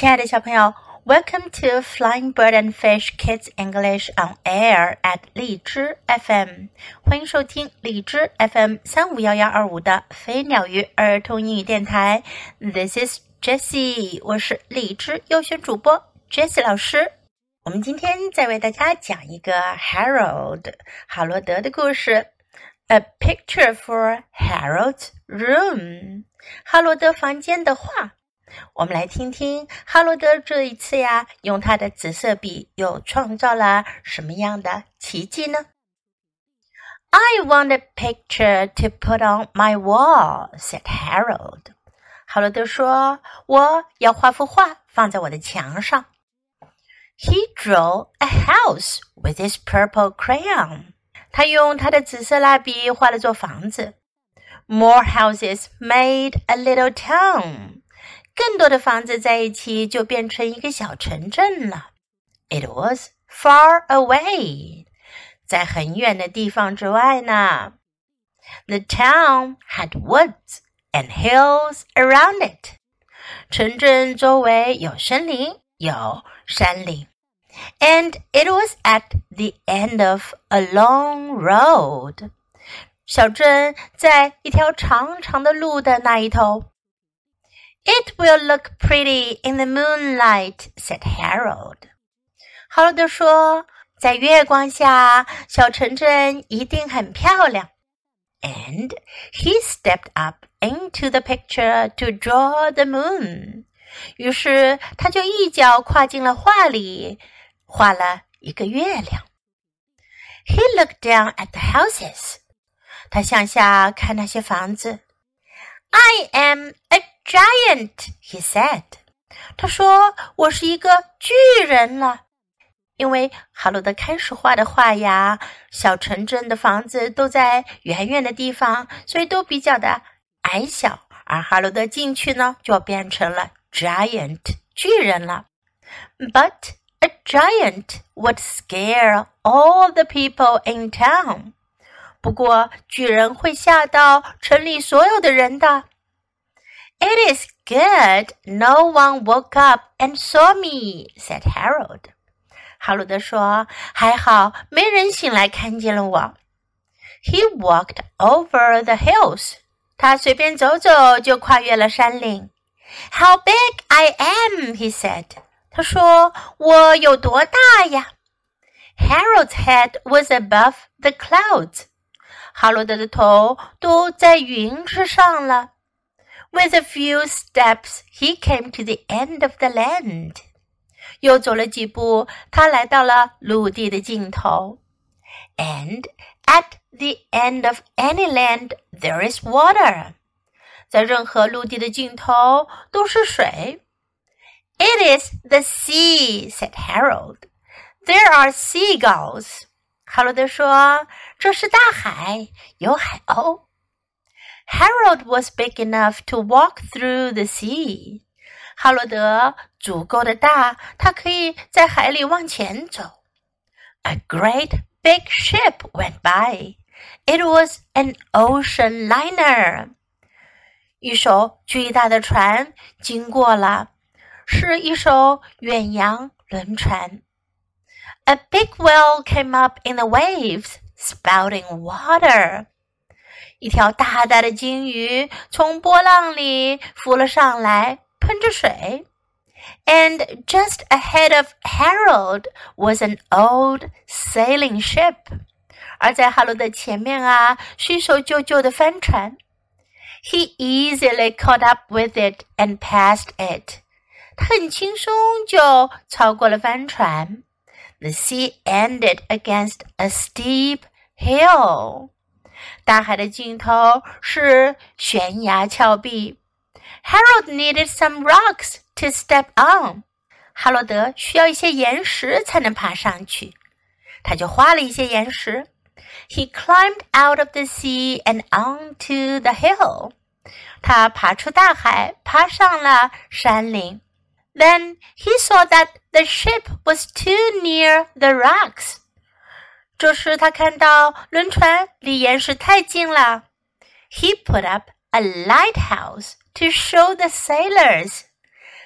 亲爱的小朋友 Welcome to Flying Bird and Fish Kids English on Air at 荔枝 FM 欢迎收听荔枝 FM 351125的飞鸟鱼儿童英语电台 This is Jessie 我是荔枝优选主播 Jessie 老师我们今天再为大家讲一个 Harold 哈罗德的故事 A picture for Harold's room 哈罗德房间的画我们来听听哈罗德这一次呀，用他的紫色笔又创造了什么样的奇迹呢 I want a picture to put on my wall, said Harold. 哈罗德说，我要画幅画放在我的墙上。He drew a house with his purple crayon. 他用他的紫色蜡笔画了座房子。More houses made a little town.更多的房子在一起就变成一个小城镇了。It was far away. 在很远的地方之外呢。The town had woods and hills around it. 城镇周围有森林，有山岭。And it was at the end of a long road. 小镇在一条长长的路的那一头。It will look pretty in the moonlight, said Harold. 哈罗德说，在月光下，小城镇一定很漂亮。And he stepped up into the picture to draw the moon. 于是他就一脚跨进了画里，画了一个月亮。He looked down at the houses. 他向下看那些房子。I am a giant, he said. 他说，我是一个巨人了。因为哈罗德开始画的画呀，小城镇的房子都在远远的地方，所以都比较的矮小。而哈罗德进去呢，就变成了 giant, 巨人了。But a giant would scare all the people in town.不过巨人会吓到城里所有的人的。It is good no one woke up and saw me, said Harold. 哈罗德说，还好没人醒来看见了我。He walked over the hills. 他随便走走就跨越了山岭。How big I am, he said. 他说，我有多大呀？ Harold's head was above the clouds.哈罗德的头都在云之上了。With a few steps, he came to the end of the land. 又走了几步，他来到了陆地的尽头。And at the end of any land, there is water. 在任何陆地的尽头都是水。It is the sea, said Harold. There are seagulls.哈罗德说，这是大海，有海鸥。Harold was big enough to walk through the sea. 哈罗德足够的大，他可以在海里往前走。A great big ship went by. It was an ocean liner. 一艘巨大的船经过了，是一艘远洋轮船。A big whale came up in the waves, spouting water. 一条大大的鲸鱼从波浪里浮了上来，喷着水。And just ahead of Harold was an old sailing ship. 而在哈罗德前面啊，是一艘旧旧的帆船。He easily caught up with it and passed it. 他很轻松就超过了帆船。The sea ended against a steep hill. 大海的尽头是悬崖峭壁。Harold needed some rocks to step on. 哈罗德需要一些岩石才能爬上去。他就画了一些岩石。He climbed out of the sea and onto the hill. 他爬出大海，爬上了山岭。Then he saw that the ship was too near the rocks. 这时他看到轮船离岩石太近了。He put up a lighthouse to show the sailors.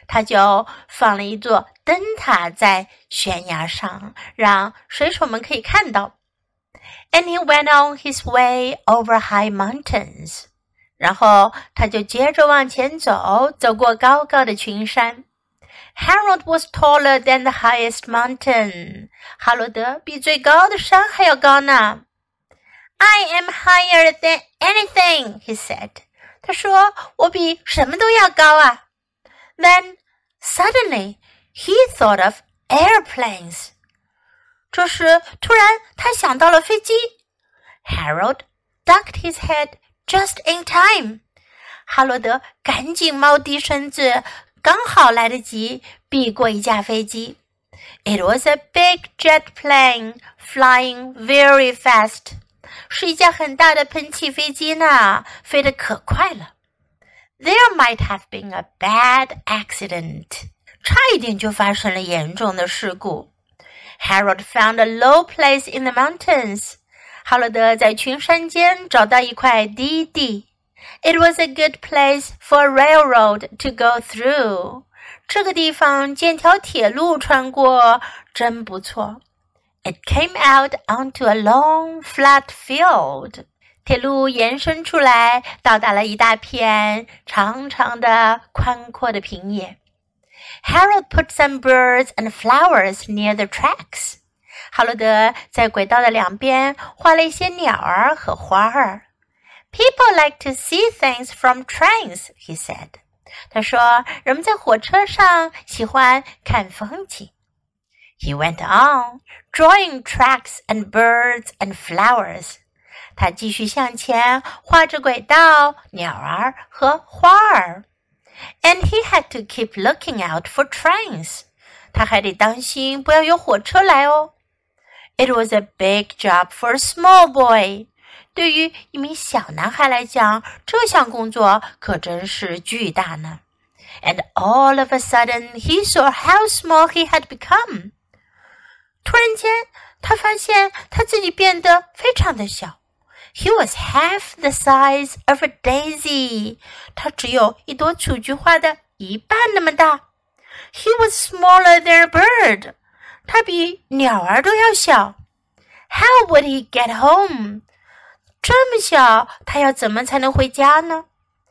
他就放了一座灯塔在悬崖上，让水手们可以看到。And he went on his way over high mountains. 然后他就接着往前走，走过高高的群山。Harold was taller than the highest mountain. 哈罗德比最高的山还要高呢。I am higher than anything, he said. 他说，我比什么都要高啊。Then, suddenly, he thought of airplanes. 这时，突然他想到了飞机。Harold ducked his head just in time. 哈罗德赶紧猫低身子，刚好来得及避过一架飞机。It was a big jet plane flying very fast. 是一架很大的喷气飞机呢，飞得可快了。There might have been a bad accident. 差一点就发生了严重的事故。Harold found a low place in the mountains. 哈罗德在群山间找到一块低地。It was a good place for a railroad to go through. 这个地方建条铁路穿过，真不错。It came out onto a long, flat field. 铁路延伸出来，到达了一大片长长的、宽阔的平野。Harold put some birds and flowers near the tracks. 哈罗德在轨道的两边画了一些鸟儿和花儿。People like to see things from trains, he said. 他说，人们在火车上喜欢看风景。He went on, drawing tracks and birds and flowers. 他继续向前，画着轨道、鸟儿和花儿。And he had to keep looking out for trains. 他还得当心不要有火车来哦。It was a big job for a small boy. 对于一名小男孩来讲，这项工作可真是巨大呢。And all of a sudden, he saw how small he had become. 突然间，他发现他自己变得非常的小。He was half the size of a daisy. 他只有一朵雏菊花的一半那么大。He was smaller than a bird. 他比鸟儿都要小。How would he get home? 这么小，他要怎么才能回家呢？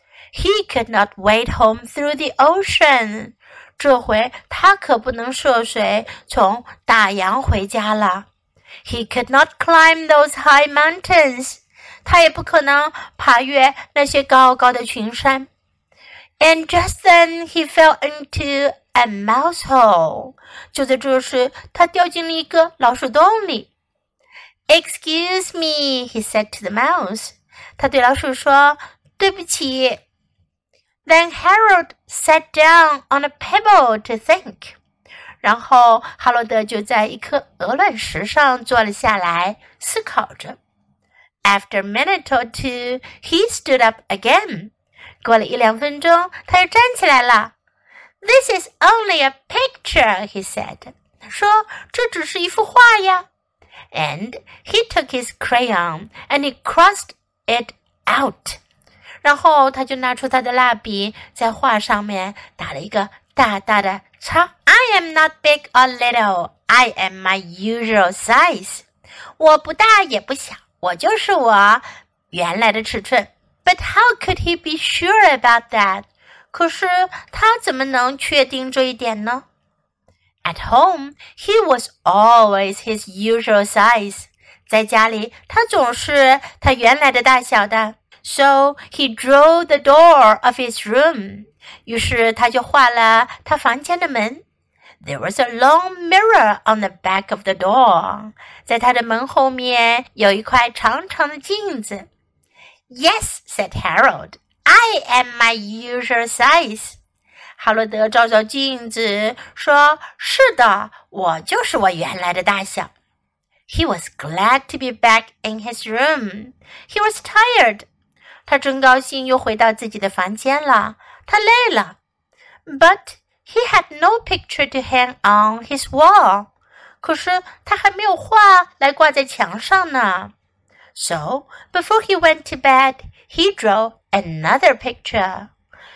He could not wade home through the ocean. 这回他可不能涉水从大洋回家了。He could not climb those high mountains. 他也不可能爬越那些高高的群山。And just then he fell into a mouse hole. 就在这时，他掉进了一个老鼠洞里。Excuse me, he said to the mouse. 他对老鼠说，对不起。Then Harold sat down on a pebble to think. 然后哈罗德就在一颗鹅卵石上坐了下来，思考着。After a minute or two, he stood up again. 过了1-2分钟，他又站起来了。This is only a picture, he said. 他说，这只是一幅画呀。And he took his crayon and he crossed it out. 然后他就拿出他的蜡笔，在画上面打了一个大大的叉。I am not big or little. I am my usual size. 我不大也不小，我就是我原来的尺寸。But how could he be sure about that? 可是他怎么能确定这一点呢？ At home, he was always his usual size. 在家里，他总是他原来的大小的。So he drew the door of his room. 于是他就画了他房间的门。There was a long mirror on the back of the door. 在他的门后面有一块长长的镜子。Yes, said Harold. I am my usual size. 哈罗德照照镜子说，是的，我就是我原来的大小。He was glad to be back in his room. He was tired. 他真高兴又回到自己的房间了，他累了。But he had no picture to hang on his wall. 可是他还没有画来挂在墙上呢。So, before he went to bed, he drew another picture.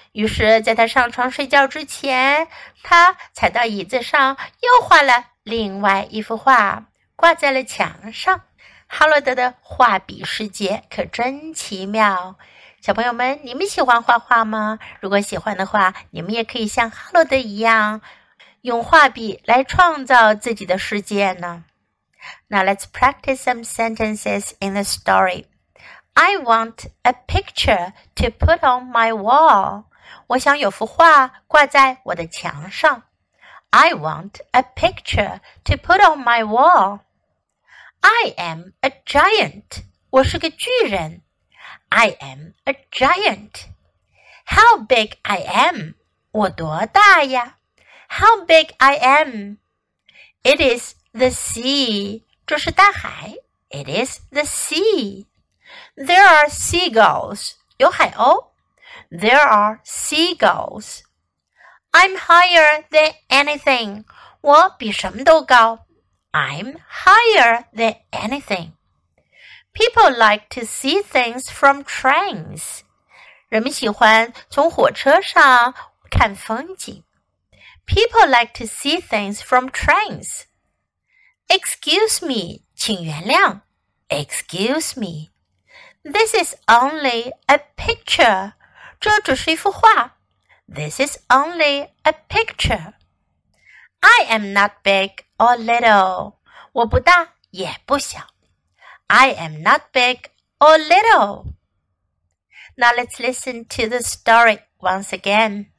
于是在他上床睡觉之前，他踩到椅子上，又画了另外一幅画，挂在了墙上。哈罗德的画笔世界可真奇妙。小朋友们，你们喜欢画画吗？如果喜欢的话，你们也可以像哈罗德一样，用画笔来创造自己的世界呢。Now let's practice some sentences in the story. I want a picture to put on my wall. 我想有幅画挂在我的墙上。I want a picture to put on my wall. I am a giant. 我是个巨人。I am a giant. How big I am. 我多大呀？ How big I am. It is the sea. 这是大海。It is the sea. There are seagulls. 有海鸥。There are seagulls. I'm higher than anything. 我比什么都高。I'm higher than anything. People like to see things from trains. 人们喜欢从火车上看风景。People like to see things from trains. Excuse me, 请原谅。Excuse me. This is only a picture. 这只是一幅画。This is only a picture. I am not big or little. 我不大也不小。I am not big or little. Now let's listen to the story once again.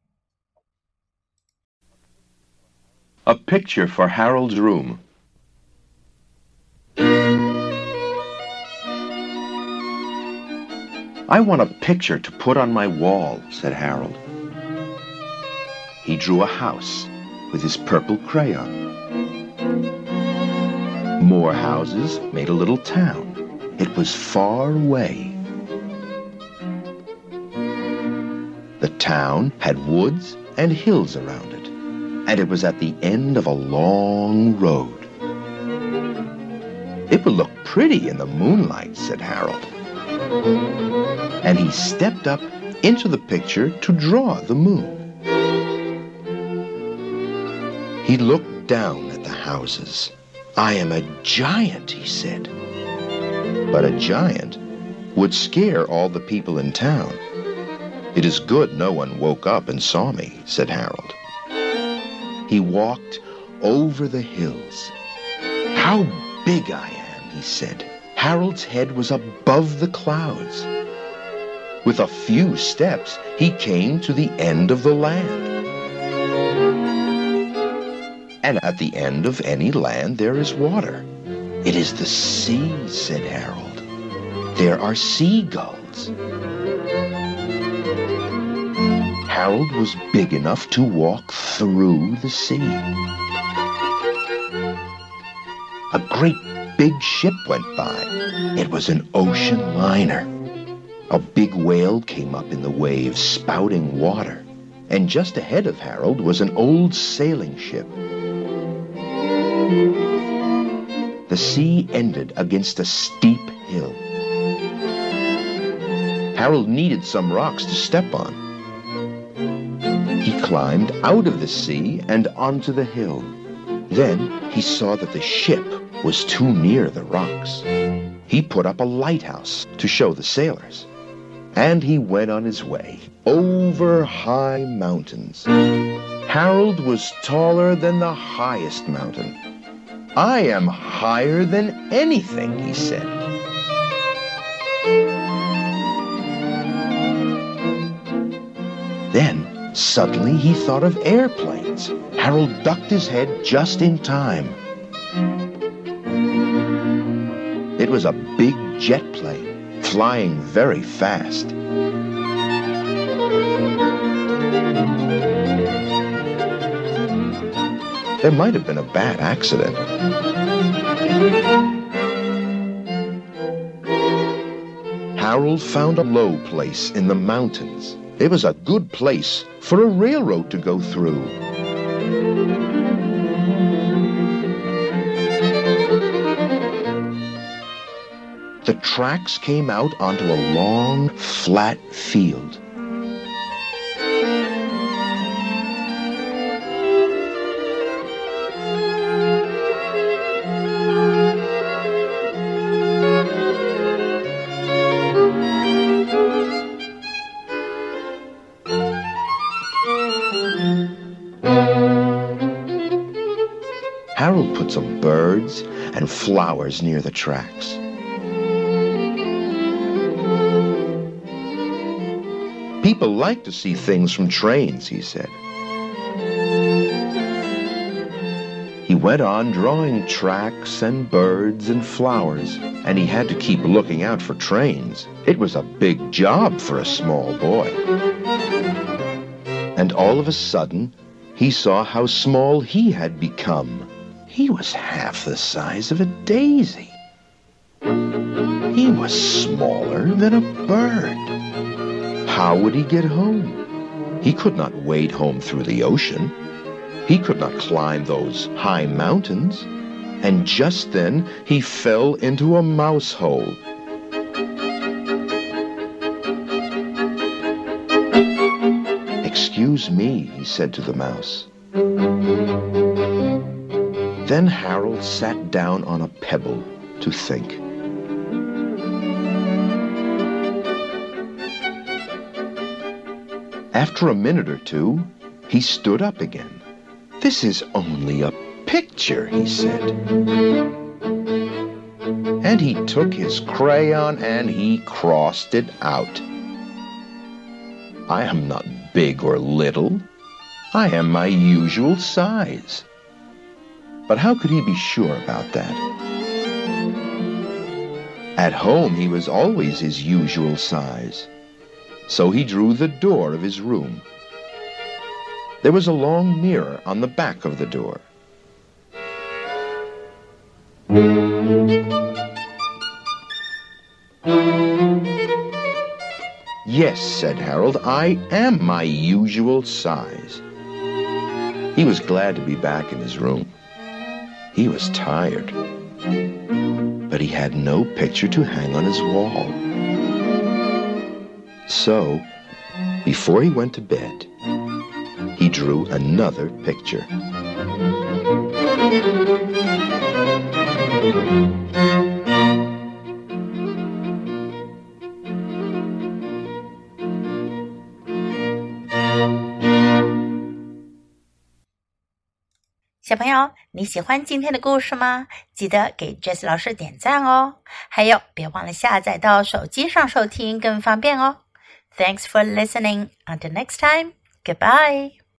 A picture for Harold's room. I want a picture to put on my wall, said Harold. He drew a house with his purple crayon. More houses made a little town. It was far away. The town had woods and hills around it, and it was at the end of a long road. It would look pretty in the moonlight, said Harold. And he stepped up into the picture to draw the moon. He looked down at the houses. I am a giant, he said. But a giant would scare all the people in town. It is good no one woke up and saw me, said Harold. He walked over the hills. How big I am, he said. Harold's head was above the clouds. With a few steps, he came to the end of the land. And at the end of any land there is water. It is the sea, said Harold. There are seagulls. Harold was big enough to walk through the sea. A great big ship went by. It was an ocean liner. A big whale came up in the waves, spouting water. And just ahead of Harold was an old sailing ship. The sea ended against a steep hill. Harold needed some rocks to step on. He climbed out of the sea and onto the hill. Then he saw that the ship was too near the rocks. He put up a lighthouse to show the sailors. And he went on his way over high mountains. Harold was taller than the highest mountain. I am higher than anything, he said. Then, suddenly he thought of airplanes. Harold ducked his head just in time. It was a big jet plane, flying very fast. There might have been a bad accident. Harold found a low place in the mountains. It was a good place for a railroad to go through. The tracks came out onto a long, flat field. Harold put some birds and flowers near the tracks. People like to see things from trains, he said. He went on drawing tracks and birds and flowers, and he had to keep looking out for trains. It was a big job for a small boy. And all of a sudden, he saw how small he had become. He was half the size of a daisy. He was smaller than a bird. How would he get home? He could not wade home through the ocean. He could not climb those high mountains. And just then he fell into a mouse hole. "Excuse me," he said to the mouse. Then Harold sat down on a pebble to think. After a minute or two, he stood up again. "This is only a picture," he said. And he took his crayon and he crossed it out. "I am not big or little. I am my usual size." But how could he be sure about that? At home, he was always his usual size. So he drew the door of his room. There was a long mirror on the back of the door. "Yes," said Harold, "I am my usual size." He was glad to be back in his room. He was tired, but he had no picture to hang on his wall. So, before he went to bed, he drew another picture. 小朋友，你喜欢今天的故事吗？记得给 Jessie 老师点赞哦。还有，别忘了下载到手机上收听，更方便哦。Thanks for listening. Until next time, goodbye.